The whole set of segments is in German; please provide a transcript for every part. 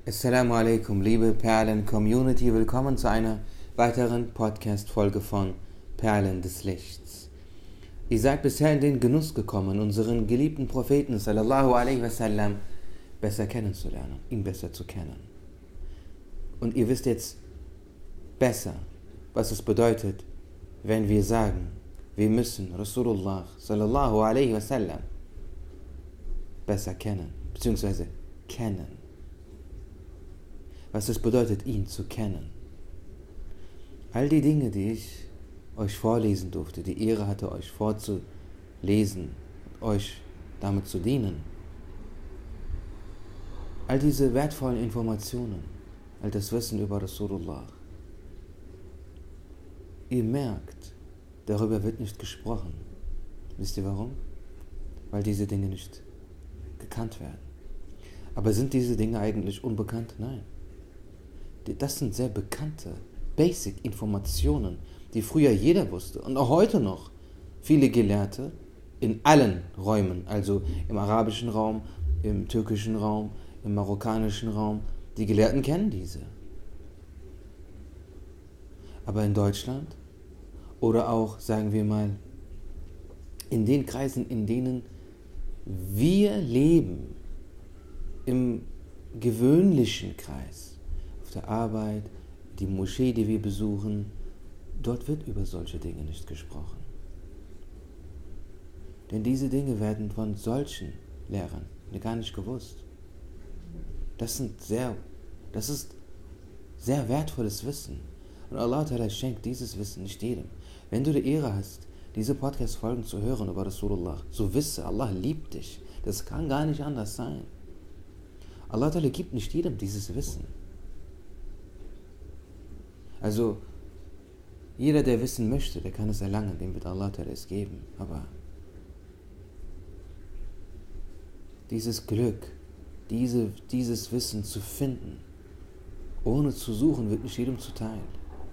Assalamu alaikum, liebe Perlen-Community, willkommen zu einer weiteren Podcast-Folge von Perlen des Lichts. Ihr seid bisher in den Genuss gekommen, unseren geliebten Propheten sallallahu alaihi wasallam besser kennenzulernen, ihn besser zu kennen. Und ihr wisst jetzt besser, was es bedeutet, wenn wir sagen, wir müssen Rasulullah sallallahu alaihi wasallam besser kennen, beziehungsweise kennen. Was es bedeutet, ihn zu kennen. All die Dinge, die ich euch vorlesen durfte, die Ehre hatte, euch vorzulesen, euch damit zu dienen. All diese wertvollen Informationen, all das Wissen über Rasulullah. Ihr merkt, darüber wird nicht gesprochen. Wisst ihr warum? Weil diese Dinge nicht gekannt werden. Aber sind diese Dinge eigentlich unbekannt? Nein. Das sind sehr bekannte Basic-Informationen, die früher jeder wusste und auch heute noch viele Gelehrte in allen Räumen, also im arabischen Raum, im türkischen Raum, im marokkanischen Raum, die Gelehrten kennen diese. Aber in Deutschland oder auch, sagen wir mal, in den Kreisen, in denen wir leben, im gewöhnlichen Kreis, der Arbeit, die Moschee, die wir besuchen, dort wird über solche Dinge nicht gesprochen. Denn diese Dinge werden von solchen Lehrern gar nicht gewusst. Das ist sehr wertvolles Wissen. Und Allah Ta'ala schenkt dieses Wissen nicht jedem. Wenn du die Ehre hast, diese Podcast-Folgen zu hören über Rasulullah, so wisse, Allah liebt dich. Das kann gar nicht anders sein. Allah Ta'ala gibt nicht jedem dieses Wissen. Also, jeder, der wissen möchte, der kann es erlangen, dem wird Allah es geben. Aber dieses Glück, dieses Wissen zu finden, ohne zu suchen, wird nicht jedem zuteil.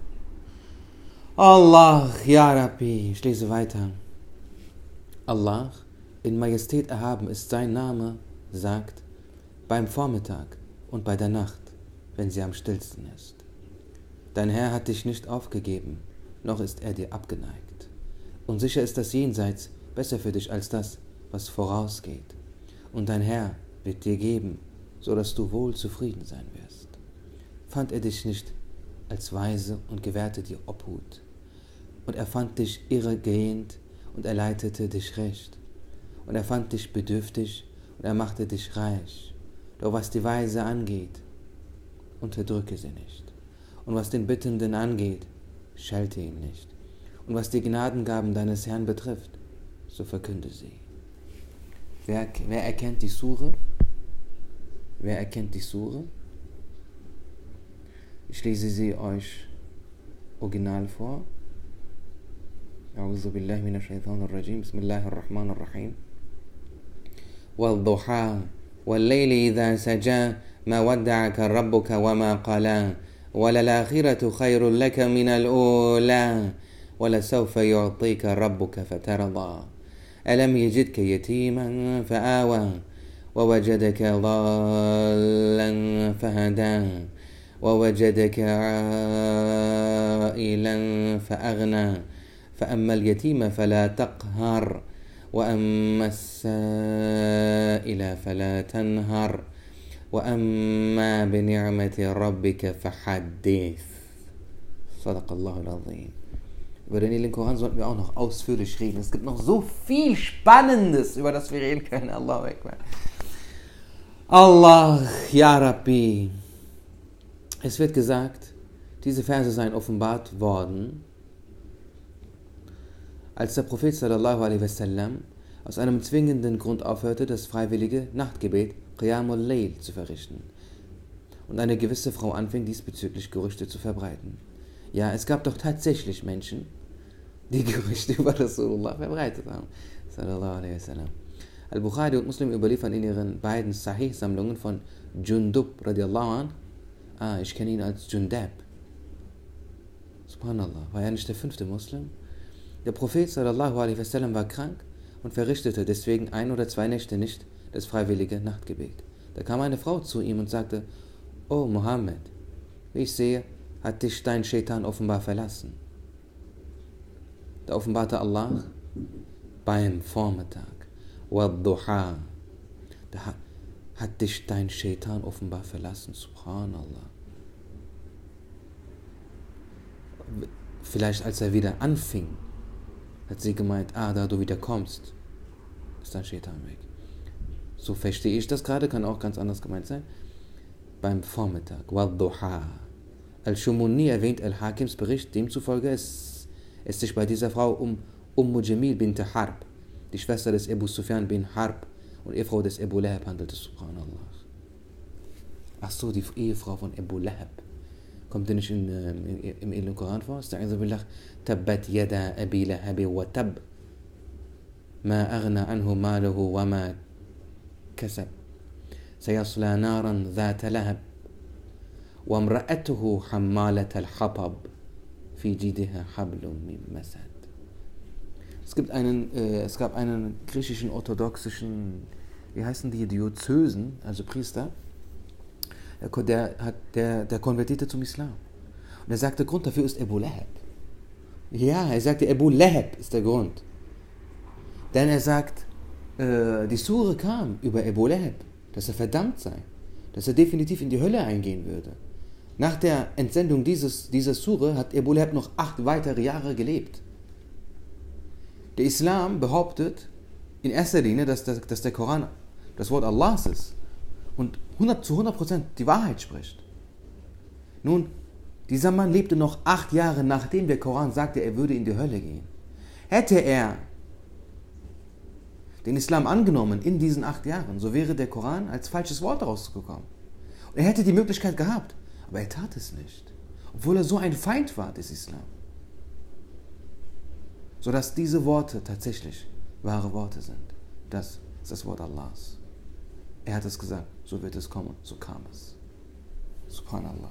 Allah, Ya Rabbi, ich lese weiter. Allah, in Majestät erhaben ist sein Name, sagt, beim Vormittag und bei der Nacht, wenn sie am stillsten ist. Dein Herr hat dich nicht aufgegeben, noch ist er dir abgeneigt. Und sicher ist das Jenseits besser für dich als das, was vorausgeht. Und dein Herr wird dir geben, so dass du wohl zufrieden sein wirst. Fand er dich nicht als Weise und gewährte dir Obhut. Und er fand dich irregehend und er leitete dich recht. Und er fand dich bedürftig und er machte dich reich. Doch was die Weise angeht, unterdrücke sie nicht. Und was den Bittenden angeht, schelte ihn nicht. Und was die Gnadengaben deines Herrn betrifft, so verkünde sie. Wer erkennt die Sure? Wer erkennt die Sure? Ich lese sie euch original vor. A'udhu billahi minash shaitanir rajim. Bismillahir rahmanir rahim. Wal-duha wal-layli idha saja ma wadda'aka rabbuka wa ma qala. وللآخرة خير لك من الأولى ولسوف يعطيك ربك فترضى ألم يجدك يتيما فآوى ووجدك ضالا فهدى ووجدك عائلا فأغنى فأما اليتيم فلا تقهر وأما السائل فلا تنهر وَأَمَّا بِنِعْمَةِ رَبِّكَ فَحَدِّثْ. Sadaqallahu al-Azim. Über den Heiligen Koran sollten wir auch noch ausführlich reden. Es gibt noch so viel Spannendes, über das wir reden können. Allahu Akbar. Allah, Ya Rabbi. Es wird gesagt, diese Verse seien offenbart worden, als der Prophet sallallahu alaihi wasallam aus einem zwingenden Grund aufhörte, das freiwillige Nachtgebet Qiyamul Layl zu verrichten. Und eine gewisse Frau anfing, diesbezüglich Gerüchte zu verbreiten. Ja, es gab doch tatsächlich Menschen, die Gerüchte über Rasulullah verbreitet haben. Sallallahu alaihi wasallam. Al-Bukhari und Muslim überliefern in ihren beiden Sahih-Sammlungen von Jundub radiallahu an. Ich kenne ihn als Jundab. Subhanallah, war er nicht der 5. Muslim? Der Prophet sallallahu alaihi wasallam war krank und verrichtete deswegen 1 oder 2 Nächte nicht das freiwillige Nachtgebet. Da kam eine Frau zu ihm und sagte: Oh Mohammed, wie ich sehe, hat dich dein Shaitan offenbar verlassen. Da offenbarte Allah beim Vormittag. Wad-Duha. Da hat dich dein Shaitan offenbar verlassen. Subhanallah. Vielleicht als er wieder anfing, hat sie gemeint, da du wieder kommst, ist dein Shaitan weg. So verstehe ich das gerade, kann auch ganz anders gemeint sein. Beim Vormittag. Wad-Duha. Al-Shumuni erwähnt Al-Hakims Bericht, demzufolge es sich bei dieser Frau um Jamil bint Harb, die Schwester des Abu Sufyan bin Harb und Ehefrau des Abu Lahab handelte, subhanallah. Ach so, die Ehefrau von Abu Lahab. Kommt die nicht im edlen Koran vor? Sta'idhu billah, Tabbat yada Abi Lahabi wa tab, ma aghna anhu maluhu wa ma kasab, sayasla naran dhata lahab, wa imra'atuhu hammalat al-hatab, fi jidiha hablum min masad. Es gab einen griechischen orthodoxischen, wie heißen die, Diözesen, also Priester, der konvertierte zum Islam. Und er sagte, der Grund dafür ist Abu Lahab. Ja, er sagte, Abu Lahab ist der Grund. Denn er sagt, die Sure kam über Abu Lahab, dass er verdammt sei, dass er definitiv in die Hölle eingehen würde. Nach der Entsendung dieser Sure hat Abu Lahab noch 8 weitere Jahre gelebt. Der Islam behauptet in erster Linie, dass der Koran das Wort Allahs ist und zu 100% die Wahrheit spricht. Nun, dieser Mann lebte noch 8 Jahre, nachdem der Koran sagte, er würde in die Hölle gehen. Hätte er den Islam angenommen in diesen 8 Jahren, so wäre der Koran als falsches Wort rausgekommen. Und er hätte die Möglichkeit gehabt, aber er tat es nicht, obwohl er so ein Feind war des Islam. Sodass diese Worte tatsächlich wahre Worte sind. Das ist das Wort Allahs. Er hat es gesagt, so wird es kommen, so kam es. Subhanallah.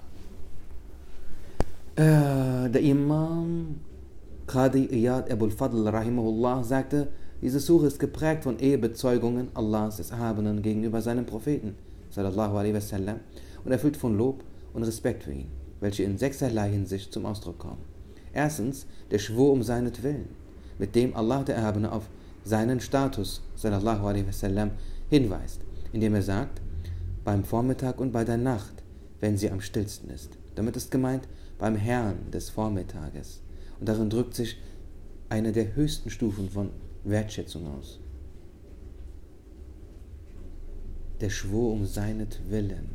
Der Imam Qadi Iyad Abul Fadl rahimahullah sagte, diese Sure ist geprägt von Ehebezeugungen Allahs des Erhabenen gegenüber seinem Propheten sallallahu alaihi wasallam und erfüllt von Lob und Respekt für ihn, welche in 6erlei Hinsicht zum Ausdruck kommen. Erstens, der Schwur um seinetwillen, mit dem Allah der Erhabene auf seinen Status sallallahu alaihi wasallam hinweist, indem er sagt, beim Vormittag und bei der Nacht, wenn sie am stillsten ist. Damit ist gemeint, beim Herrn des Vormittages. Und darin drückt sich eine der höchsten Stufen von Wertschätzung aus. Der Schwur um seinetwillen.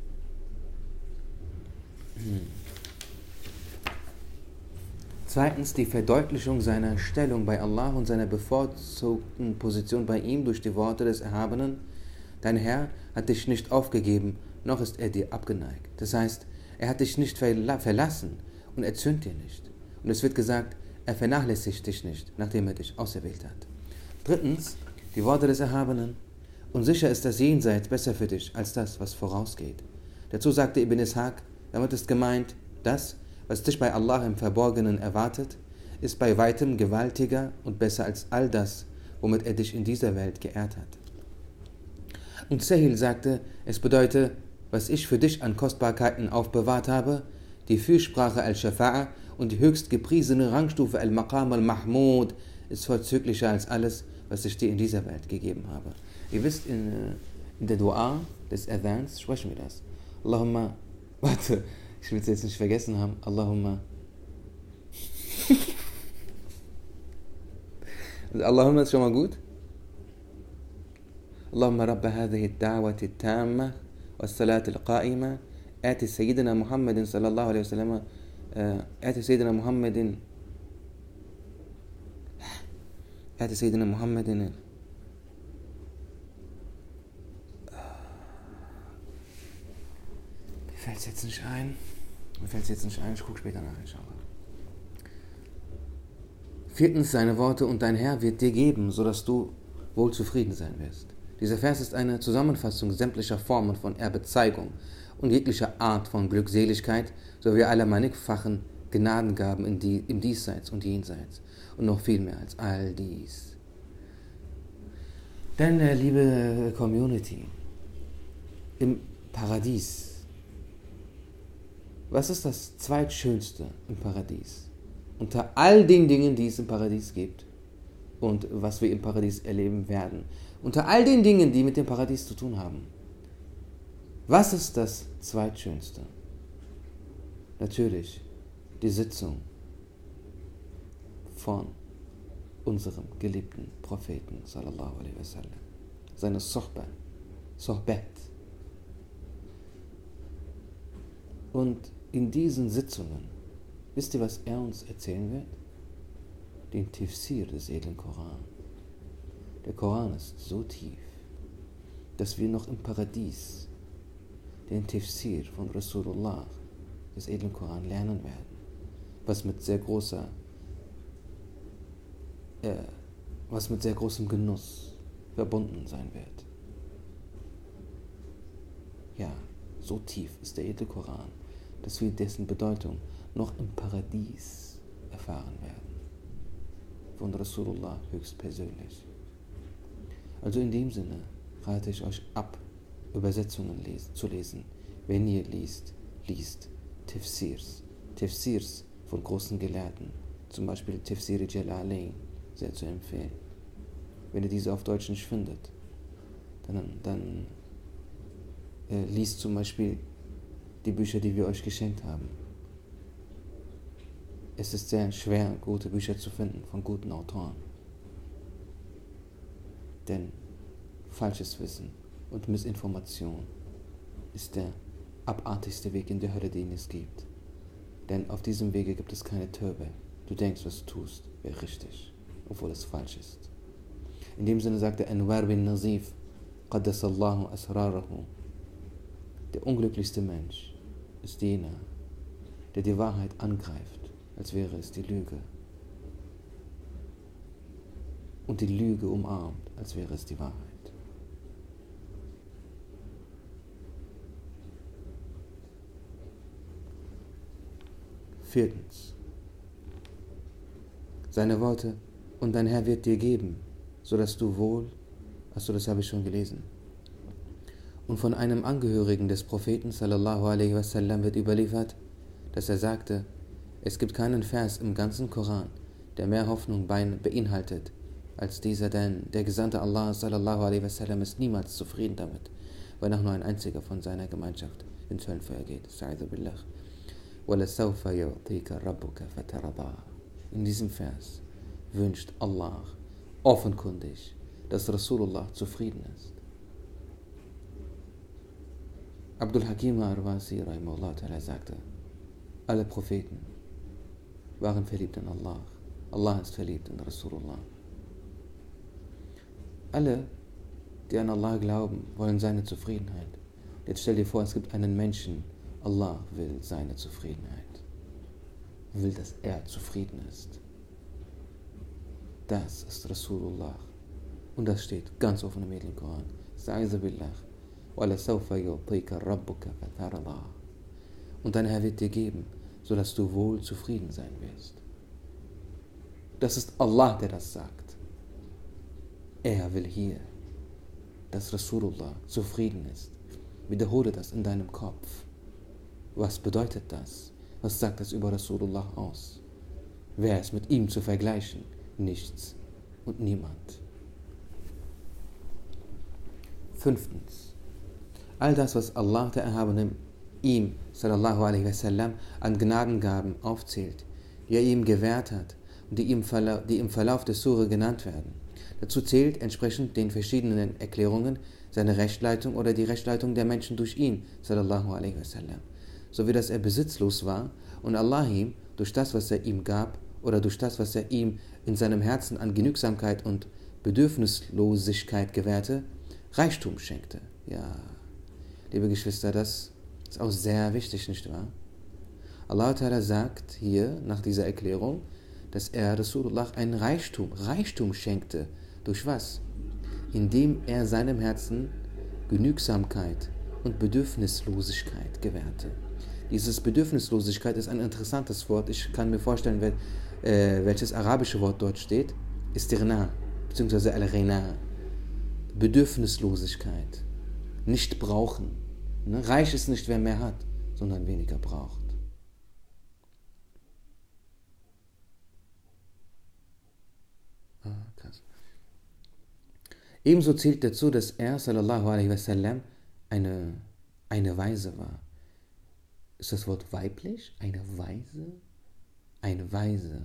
Zweitens, die Verdeutlichung seiner Stellung bei Allah und seiner bevorzugten Position bei ihm durch die Worte des Erhabenen. Dein Herr hat dich nicht aufgegeben, noch ist er dir abgeneigt. Das heißt, er hat dich nicht verlassen und er zürnt dir nicht. Und es wird gesagt, er vernachlässigt dich nicht, nachdem er dich auserwählt hat. Drittens, die Worte des Erhabenen. Und sicher ist das Jenseits besser für dich als das, was vorausgeht. Dazu sagte Ibn Ishaq, damit ist gemeint, das, was dich bei Allah im Verborgenen erwartet, ist bei weitem gewaltiger und besser als all das, womit er dich in dieser Welt geehrt hat. Und Sahil sagte, es bedeutet, was ich für dich an Kostbarkeiten aufbewahrt habe, die Fürsprache al-Shafa'a und die höchst gepriesene Rangstufe al-Maqam al-Mahmud ist vorzüglicher als alles, was ich dir in dieser Welt gegeben habe. Ihr wisst, in der Dua des Adhans sprechen wir das. Allahumma, warte, ich will es jetzt nicht vergessen haben. Allahumma. Allahumma ist schon mal gut. Allahumma rabba hadhihi ad-da'wati at-tamma was-salati al-qa'ima ati Sayyidina Muhammadin sallallahu alaihi wasallam ati Sayyidina Muhammadin mir fällt es jetzt nicht ein. Ich gucke später nach, inshallah. Viertens, seine Worte und dein Herr wird dir geben, sodass du wohl zufrieden sein wirst. Dieser Vers ist eine Zusammenfassung sämtlicher Formen von Erbezeigung und jeglicher Art von Glückseligkeit sowie aller mannigfachen Gnadengaben im Diesseits und Jenseits und noch viel mehr als all dies. Denn, liebe Community, im Paradies Was ist das Zweitschönste im Paradies? Unter all den Dingen, die es im Paradies gibt und was wir im Paradies erleben werden. Unter all den Dingen, die mit dem Paradies zu tun haben. Was ist das Zweitschönste? Natürlich die Sitzung von unserem geliebten Propheten, sallallahu alaihi wasallam. Seine Sohbet. Und in diesen Sitzungen, wisst ihr, was er uns erzählen wird? Den Tafsir des edlen Koran. Der Koran ist so tief, dass wir noch im Paradies den Tafsir von Rasulullah des edlen Koran lernen werden, was mit sehr großem Genuss verbunden sein wird. Ja, so tief ist der edle Koran, dass wir dessen Bedeutung noch im Paradies erfahren werden. Von Rasulullah höchstpersönlich. Also in dem Sinne rate ich euch ab, Übersetzungen zu lesen. Wenn ihr liest Tafsirs von großen Gelehrten, zum Beispiel Tafsir Jalalain, sehr zu empfehlen. Wenn ihr diese auf Deutsch nicht findet, dann liest zum Beispiel die Bücher, die wir euch geschenkt haben. Es ist sehr schwer, gute Bücher zu finden von guten Autoren. Denn falsches Wissen und Missinformation ist der abartigste Weg in der Hölle, den es gibt. Denn auf diesem Wege gibt es keine Tauba. Du denkst, was du tust, wäre richtig, obwohl es falsch ist. In dem Sinne sagt der Anwar bin Nazif, Qaddasallahu asrarahu. Der unglücklichste Mensch ist jener, der die Wahrheit angreift, als wäre es die Lüge. Und die Lüge umarmt, als wäre es die Wahrheit. Viertens. Seine Worte: und dein Herr wird dir geben, sodass du wohl, das habe ich schon gelesen. Und von einem Angehörigen des Propheten sallallahu alaihi wasallam wird überliefert, dass er sagte: es gibt keinen Vers im ganzen Koran, der mehr Hoffnung beinhaltet als dieser, denn der Gesandte Allah sallallahu alaihi wasallam ist niemals zufrieden damit, wenn auch nur ein einziger von seiner Gemeinschaft ins Höllenfeuer geht. Sa'idhu billah. وَلَسَوْفَ يُعْطِيكَ رَبُّكَ فَتَرْضَىٰ. In diesem Vers wünscht Allah offenkundig, dass Rasulullah zufrieden ist. Abdul Hakim Arwasi rahimahullah ta'ala sagte: alle Propheten waren verliebt in Allah. Allah ist verliebt in Rasulullah. Alle, die an Allah glauben, wollen seine Zufriedenheit. Jetzt stell dir vor, es gibt einen Menschen, Allah will seine Zufriedenheit. Will, dass er zufrieden ist. Das ist Rasulullah. Und das steht ganz offen im Heiligen Koran. Sa'idhu billah. وَلَسَوْفَ يُعْطِيكَ رَبُّكَ فَتَرْضَىٰ. Und dein Herr wird dir geben, sodass du wohl zufrieden sein wirst. Das ist Allah, der das sagt. Er will hier, dass Rasulullah zufrieden ist. Wiederhole das in deinem Kopf. Was bedeutet das? Was sagt das über Rasulullah aus? Wer ist mit ihm zu vergleichen? Nichts und niemand. Fünftens. All das, was Allah der Erhabene ihm, sallallahu alaihi wasallam, an Gnadengaben aufzählt, die er ihm gewährt hat und die im Verlauf des Sure genannt werden. Dazu zählt entsprechend den verschiedenen Erklärungen seine Rechtleitung oder die Rechtleitung der Menschen durch ihn, sallallahu alaihi wasallam. So wie dass er besitzlos war und Allah ihm durch das, was er ihm gab oder durch das, was er ihm in seinem Herzen an Genügsamkeit und Bedürfnislosigkeit gewährte, Reichtum schenkte. Ja, liebe Geschwister, das ist auch sehr wichtig, nicht wahr? Allah Ta'ala sagt hier nach dieser Erklärung, dass er Rasulullah einen Reichtum schenkte. Durch was? Indem er seinem Herzen Genügsamkeit und Bedürfnislosigkeit gewährte. Dieses Bedürfnislosigkeit ist ein interessantes Wort. Ich kann mir vorstellen, welches arabische Wort dort steht. Istirna, beziehungsweise al-Ghina. Bedürfnislosigkeit. Nicht brauchen. Reich ist nicht, wer mehr hat, sondern weniger braucht. Ebenso zählt dazu, dass er, sallallahu alaihi wasallam, eine Weise war. Ist das Wort weiblich? Eine Weise? Eine Weise.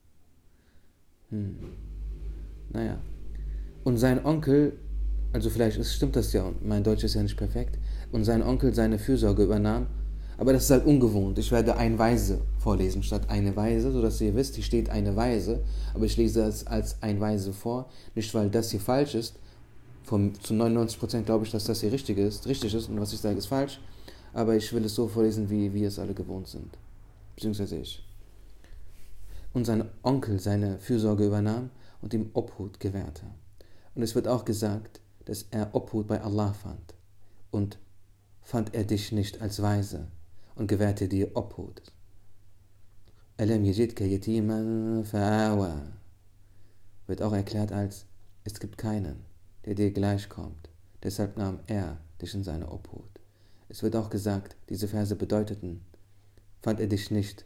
Naja. Und sein Onkel, also vielleicht stimmt das ja, und mein Deutsch ist ja nicht perfekt, und sein Onkel seine Fürsorge übernahm, aber das ist halt ungewohnt. Ich werde ein Weise vorlesen statt eine Weise, sodass ihr wisst, hier steht eine Weise, aber ich lese es als ein Weise vor, nicht weil das hier falsch ist, zu 99% glaube ich, dass das hier richtig ist und was ich sage ist falsch, aber ich will es so vorlesen, wie es alle gewohnt sind, beziehungsweise ich. Und sein Onkel seine Fürsorge übernahm und ihm Obhut gewährte. Und es wird auch gesagt, dass er Obhut bei Allah fand. Und fand er dich nicht als Weise und gewährte dir Obhut. Alam yajidka yatiman fa'awa. Wird auch erklärt als, es gibt keinen, der dir gleichkommt. Deshalb nahm er dich in seine Obhut. Es wird auch gesagt, diese Verse bedeuteten, fand er dich nicht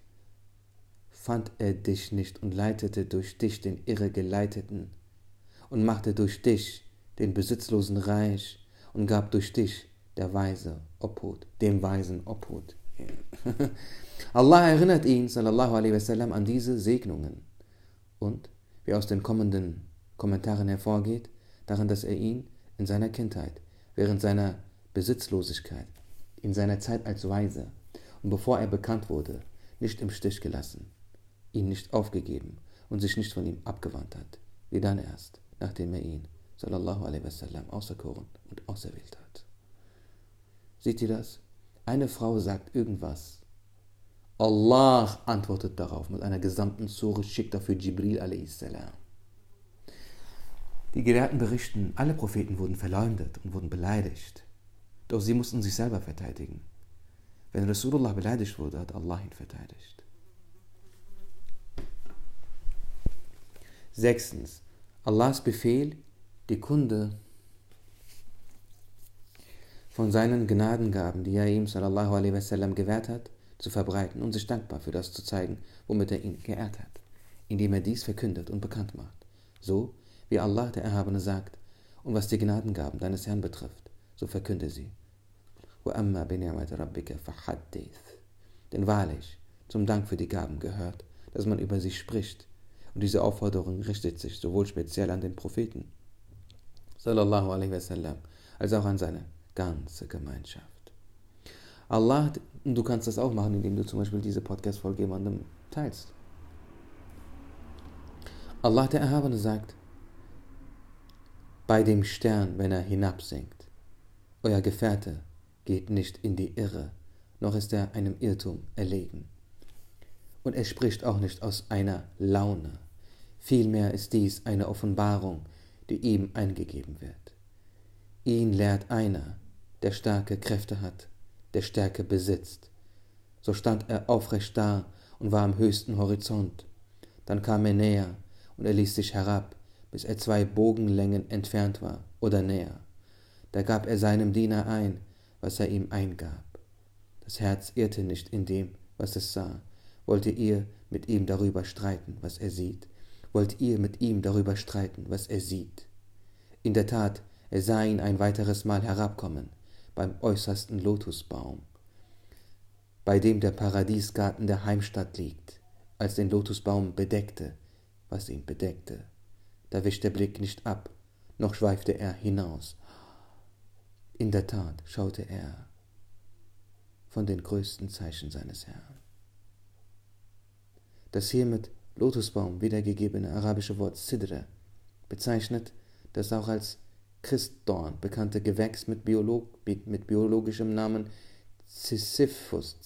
und leitete durch dich den Irregeleiteten und machte durch dich den Besitzlosen reich und gab durch dich der Weise Obhut, dem Weisen Obhut. Allah erinnert ihn, sallallahu alaihi wasallam, an diese Segnungen und, wie aus den kommenden Kommentaren hervorgeht, daran, dass er ihn in seiner Kindheit, während seiner Besitzlosigkeit, in seiner Zeit als Weise und bevor er bekannt wurde, nicht im Stich gelassen, ihn nicht aufgegeben und sich nicht von ihm abgewandt hat, wie dann erst, nachdem er ihn, sallallahu alaihi wasallam, auserkoren und auserwählt hat. Seht ihr das? Eine Frau sagt irgendwas. Allah antwortet darauf mit einer gesamten Sure, schickt dafür Jibril a.s. Die Gelehrten berichten, alle Propheten wurden verleumdet und wurden beleidigt. Doch sie mussten sich selber verteidigen. Wenn Rasulullah beleidigt wurde, hat Allah ihn verteidigt. 6. Allahs Befehl, die Kunde von seinen Gnadengaben, die er ihm sallallahu alaihi wasallam gewährt hat, zu verbreiten und sich dankbar für das zu zeigen, womit er ihn geehrt hat, indem er dies verkündet und bekannt macht. So wie Allah der Erhabene sagt, und was die Gnadengaben deines Herrn betrifft, so verkünde sie. وَأَمَّا بِنِعْمَةِ رَبِّكَ فَحَدِّثْ. Denn wahrlich, zum Dank für die Gaben gehört, dass man über sie spricht, und diese Aufforderung richtet sich sowohl speziell an den Propheten, sallallahu alaihi wasallam, als auch an seine ganze Gemeinschaft. Allah, du kannst das auch machen, indem du zum Beispiel diese Podcast-Folge jemandem teilst. Allah der Erhabene sagt, bei dem Stern, wenn er hinabsinkt, euer Gefährte geht nicht in die Irre, noch ist er einem Irrtum erlegen. Und er spricht auch nicht aus einer Laune, vielmehr ist dies eine Offenbarung, die ihm eingegeben wird. Ihn lehrt einer, der starke Kräfte hat, der Stärke besitzt. So stand er aufrecht da und war am höchsten Horizont. Dann kam er näher und er ließ sich herab, bis er 2 Bogenlängen entfernt war oder näher. Da gab er seinem Diener ein, was er ihm eingab. Das Herz irrte nicht in dem, was es sah. Wollt ihr mit ihm darüber streiten, was er sieht? Wollt ihr mit ihm darüber streiten, was er sieht? In der Tat, er sah ihn ein weiteres Mal herabkommen, beim äußersten Lotusbaum, bei dem der Paradiesgarten der Heimstatt liegt, als den Lotusbaum bedeckte, was ihn bedeckte. Da wich der Blick nicht ab, noch schweifte er hinaus. In der Tat schaute er von den größten Zeichen seines Herrn. Das hier mit Lotusbaum wiedergegebene arabische Wort Sidra bezeichnet das auch als Christdorn bekannte Gewächs mit biologischem Namen Sisyphus,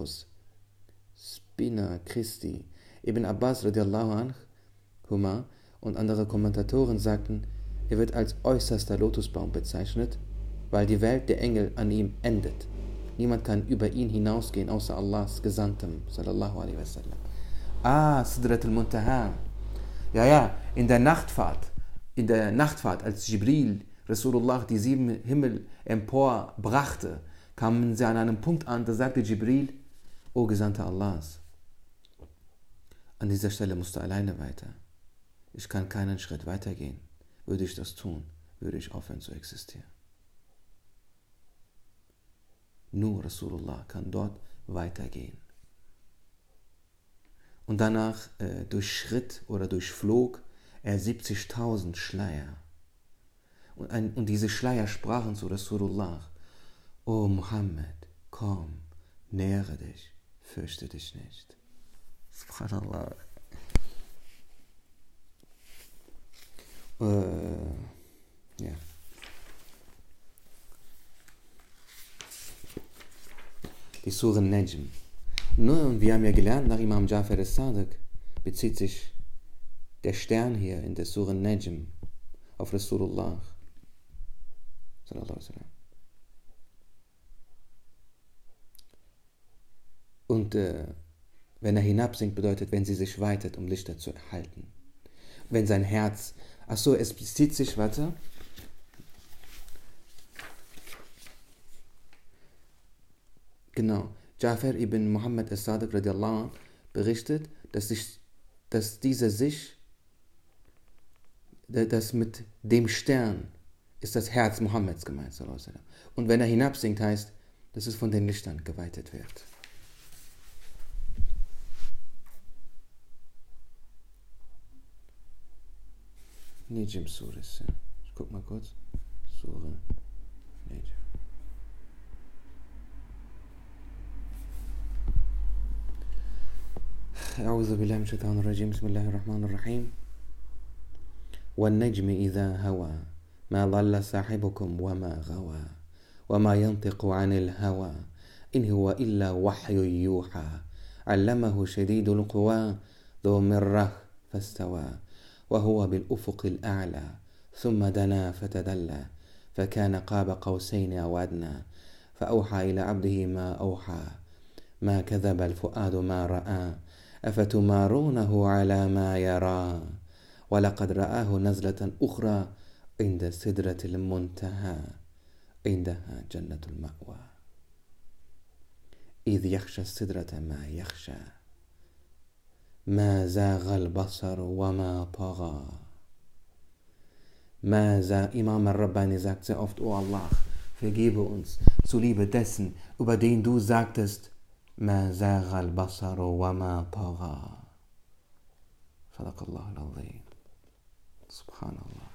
Spina Christi. Ibn Abbas radiallahu anhu und andere Kommentatoren sagten, er wird als äußerster Lotusbaum bezeichnet, weil die Welt der Engel an ihm endet. Niemand kann über ihn hinausgehen, außer Allahs Gesandtem, sallallahu alaihi wasallam. Sidrat al-Muntaha. Ja, in der Nachtfahrt, als Jibril Rasulullah die 7 Himmel emporbrachte, kamen sie an einem Punkt an, da sagte Jibril, O Gesandter Allahs, an dieser Stelle musst du alleine weiter. Ich kann keinen Schritt weitergehen. Würde ich das tun, würde ich aufhören zu existieren. Nur Rasulullah kann dort weitergehen. Und danach durchschritt oder durchflog er 70.000 Schleier. Und diese Schleier sprachen zu Rasulullah: O Muhammad, komm, nähere dich, fürchte dich nicht. Subhanallah. Ja. Die Sure Najm. Und wir haben ja gelernt, nach Imam Ja'far al-Sadiq bezieht sich der Stern hier in der Sure Najm auf Rasulullah. Und wenn er hinabsinkt, bedeutet, wenn sie sich weitet, um Lichter zu erhalten. Wenn sein Herz, es bezieht sich, genau, Ja'far ibn Muhammad al-Sadiq radiallahu anh berichtet, dass mit dem Stern ist das Herz Mohammeds gemeint. Und wenn er hinabsinkt, heißt, dass es von den Lichtern geweitet wird. Najm Surah. Ich guck mal kurz. Surah Najm. أعوذ بالله من الشيطان الرجيم بسم الله الرحمن الرحيم والنجم إذا هوى ما ضل صاحبكم وما غوى وما ينطق عن الهوى إن هو إلا وحي يوحى علمه شديد القوى ذو مرة فاستوى وهو بالأفق الأعلى ثم دنا فتدلى فكان قاب قوسين أو أدنى فأوحى إلى عبده ما أوحى ما كذب الفؤاد ما رأى أفتمارونه على ما يرى ولقد رآه نزلة أخرى عند سدرة المنتهى عندها جنة المأوى إذ يخشى السدرة ما يخشى ما زاغ البصر وما طغى Imam al-Rabbani sagt sehr oft: O Allah, vergebe uns zuliebe dessen, über den du sagtest: ما زاغ البصر وما طغى. صدق الله العظيم. Subhanallah.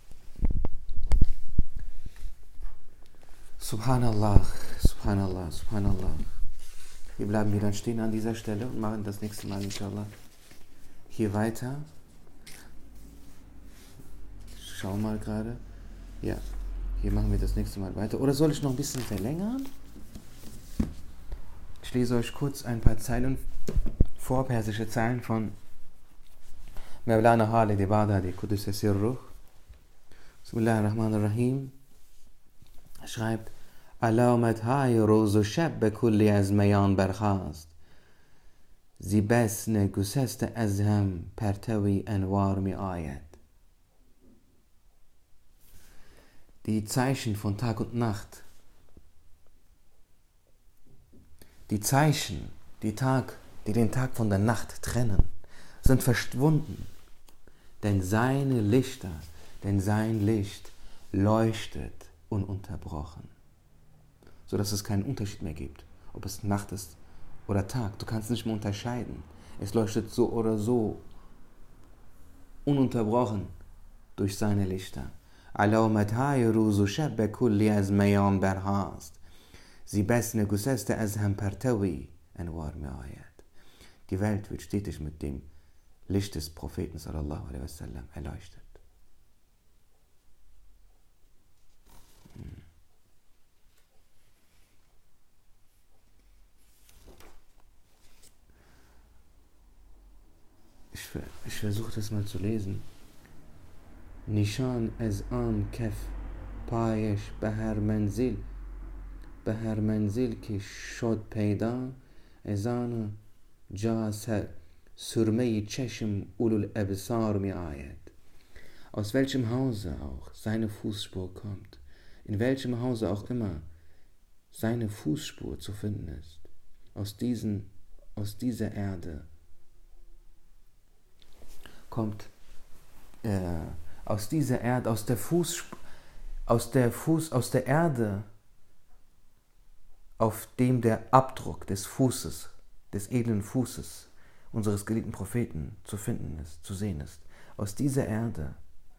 Subhanallah, Subhanallah, Subhanallah. Wir bleiben hier dann stehen an dieser Stelle und machen das nächste Mal inshallah hier weiter. Ich schau mal gerade. Ja, hier machen wir das nächste Mal weiter. Oder soll ich noch ein bisschen verlängern? Ich lese euch kurz ein paar Zeilen vor, persische Zeilen von Mevlana Khalid Baghdadi, Qudus Sirruh. Bismillahirrahmanirrahim. Er schreibt: علامت‌های روز و شب به کلی از میان برخاست زی بسن گسست از هم پرتوی انوار می آید. Die Zeichen von Tag und Nacht, die Zeichen, die den Tag von der Nacht trennen, sind verschwunden, denn sein Licht leuchtet ununterbrochen, sodass es keinen Unterschied mehr gibt, ob es Nacht ist oder Tag. Du kannst nicht mehr unterscheiden. Es leuchtet so oder so ununterbrochen durch seine Lichter. علامت‌های روز و شب به کلی از میان برخاست زی بسن گسست از هم پرتوی انوار می آید. Die Welt wird stetig mit dem Licht des Propheten sallallahu alaihi wasallam erleuchtet. Ich versuche das mal zu lesen. نشان از آن کف پایش به هر منزل که شد پیدا از آن جا سرمه چشم الابصار می آید. Aus welchem Hause auch seine Fußspur kommt, in welchem Hause auch immer seine Fußspur zu finden ist, aus dieser Erde kommt aus der aus der Erde, auf dem der Abdruck des Fußes, des edlen Fußes unseres geliebten Propheten zu finden ist, zu sehen ist. Aus dieser Erde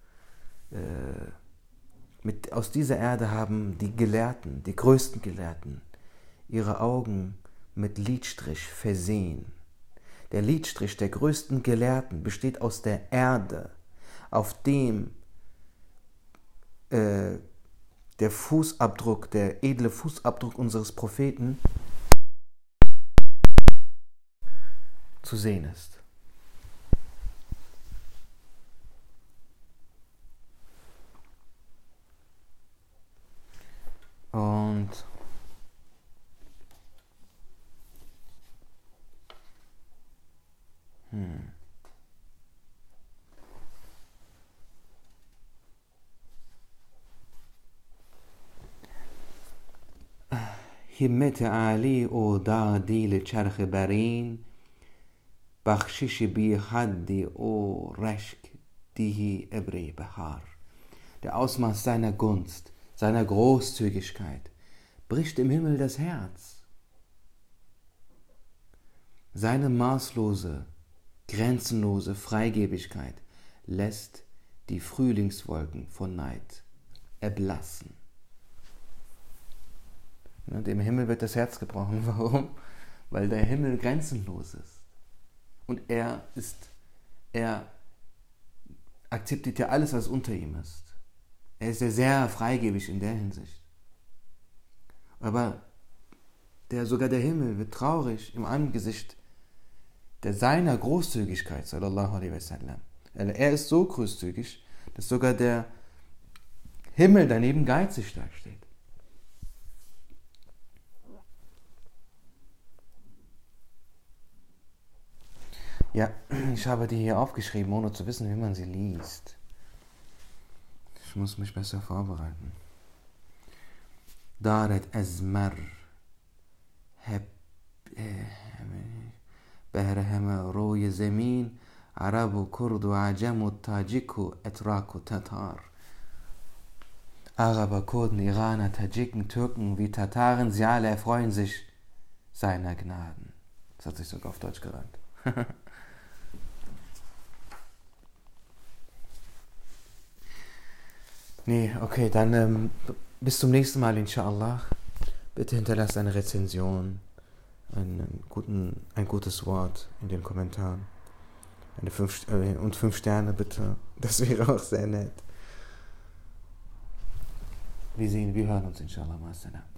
haben die Gelehrten, die größten Gelehrten, ihre Augen mit Lidstrich versehen. Der Lidstrich der größten Gelehrten besteht aus der Erde, auf dem der Fußabdruck, der edle Fußabdruck unseres Propheten zu sehen ist. Und همت علی و دادیل چرخ برین بخشش بی حدی و رشک دیهی ابری بهar. Der Ausmaß seiner Gunst, seiner Großzügigkeit bricht im Himmel das Herz. Seine maßlose, grenzenlose Freigebigkeit lässt die Frühlingswolken von Neid erblassen. Und im Himmel wird das Herz gebrochen. Warum? Weil der Himmel grenzenlos ist. Und er akzeptiert ja alles, was unter ihm ist. Er ist ja sehr freigebig in der Hinsicht. Aber sogar der Himmel wird traurig im Angesicht seiner Großzügigkeit, sallallahu alaihi wasallam. Er ist so großzügig, dass sogar der Himmel daneben geizig dasteht. Ja, ich habe die hier aufgeschrieben, ohne zu wissen, wie man sie liest. Ich muss mich besser vorbereiten. Daret azmar بهر همه روی زمین عرب و کرد و عجم و تاجیک و اتراک و تتار. Araber, Kurden, Iraner, Tadschiken, Türken wie Tataren, sie alle erfreuen sich seiner Gnaden. Das hat sich sogar auf Deutsch gereimt. Nee, okay, dann bis zum nächsten Mal, inshallah. Bitte hinterlasst eine Rezension, ein gutes Wort in den Kommentaren. Und 5 Sterne bitte. Das wäre auch sehr nett. Wir hören uns inshallah.